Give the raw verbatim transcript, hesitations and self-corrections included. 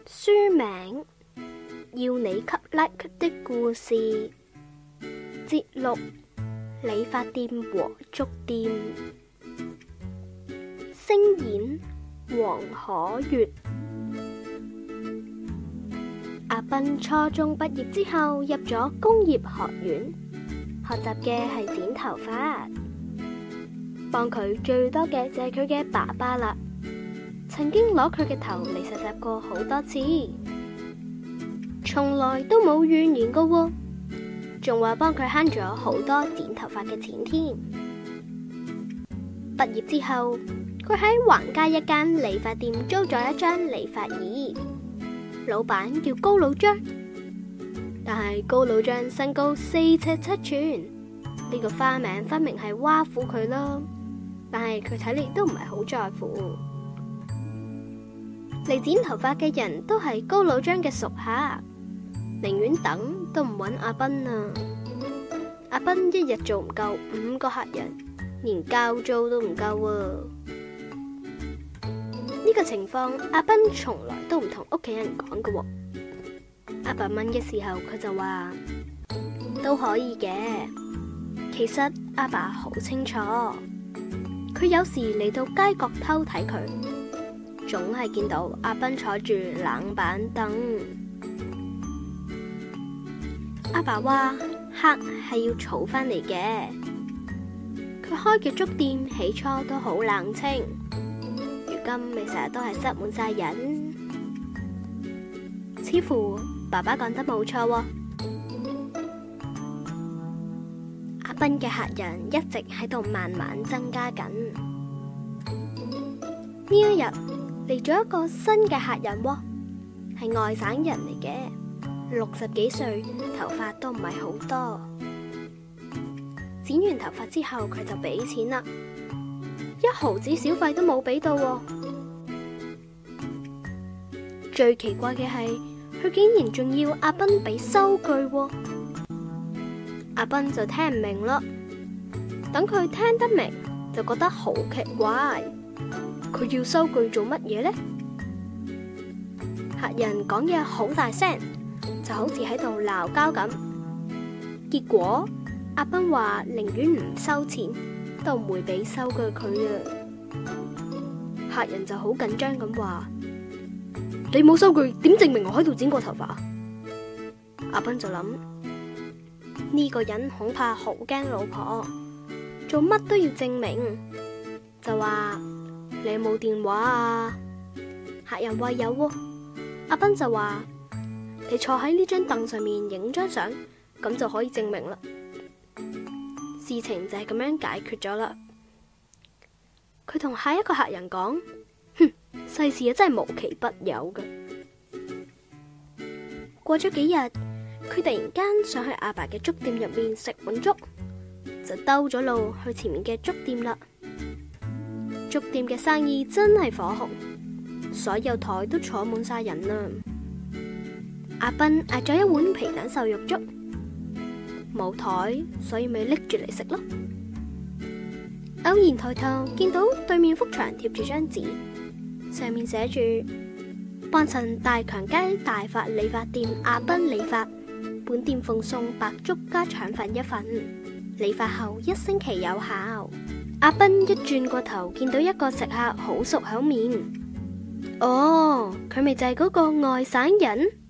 書名：要你給 like 的故事，節錄：理髮店和粥店，聲演：黃可悅。阿斌初中畢業之後入咗工業學院，學習嘅係剪頭髮。幫佢最多嘅就係佢嘅爸爸啦，曾經攞佢嘅頭嚟實習過好多次，從來都冇怨言過喎，仲話幫佢慳咗好多剪頭髮嘅錢添。畢業之後，佢喺橫街一間理髮店租咗一張理髮椅，老闆叫高老張，但係高老張身高四尺七寸，呢個花名分明係挖苦佢啦。但係佢睇嚟都唔係好在乎。嚟剪頭髮嘅人都係高老張嘅熟客，寧願等都唔揾阿斌啊。阿斌一日做唔夠五個客人，連交租都唔夠啊。呢個情況阿斌從來都唔同屋企人講㗎喎。阿爸問嘅時候，佢就話都可以嘅。其實阿爸好清楚，佢有時嚟到街角偷睇佢，總係見到阿斌坐住冷板凳。阿爸話客係要儲返嚟嘅，佢開嘅粥店起初都好冷清，如今咪成日都係塞滿晒人。似乎爸爸講得冇錯喎。阿斌嘅客人一直喺度慢慢增加緊。呢一日嚟咗一個新嘅客人喎，係外省人嚟嘅，六十幾歲，頭髮都唔係好多。剪完頭髮之後，佢就俾錢啦，一毫子小費都冇俾到喎。最奇怪嘅係，佢竟然仲要阿斌俾收據喎。阿斌就聽唔明咯，等佢聽得明就覺得好奇怪，佢要收據做乜嘢呢？客人講嘢好大聲，就好似喺度鬧交咁。結果阿斌話寧願唔收錢，都唔會俾收據佢啊。客人就好緊張咁話：你冇收據，點證明我喺度剪過頭髮？阿斌就諗，呢個人恐怕好驚老婆，做乜都要證明，就話你有冇電話啊？客人話有喎，阿斌就話你坐喺呢張凳上面影張相，咁就可以證明啦。事情就係咁樣解決咗啦。佢同下一個客人講：哼，世事啊真係無奇不有㗎。過咗幾日，佢突然間想去阿爸嘅粥店入面食碗粥，就兜咗路去前面嘅粥店啦。粥店嘅生意真係火紅，所有台都坐滿晒人啦。阿斌嗌咗一碗皮蛋瘦肉粥，冇台，所以咪拎住嚟食咯。偶然抬頭見到對面幅牆貼住張紙，上面寫住：幫襯大強街大發理髮店阿斌理髮，本店奉送白粥加腸粉一份，理髮後一星期有效。阿斌一轉過頭，見到一個食客好熟口面，哦，佢咪就係嗰個外省人。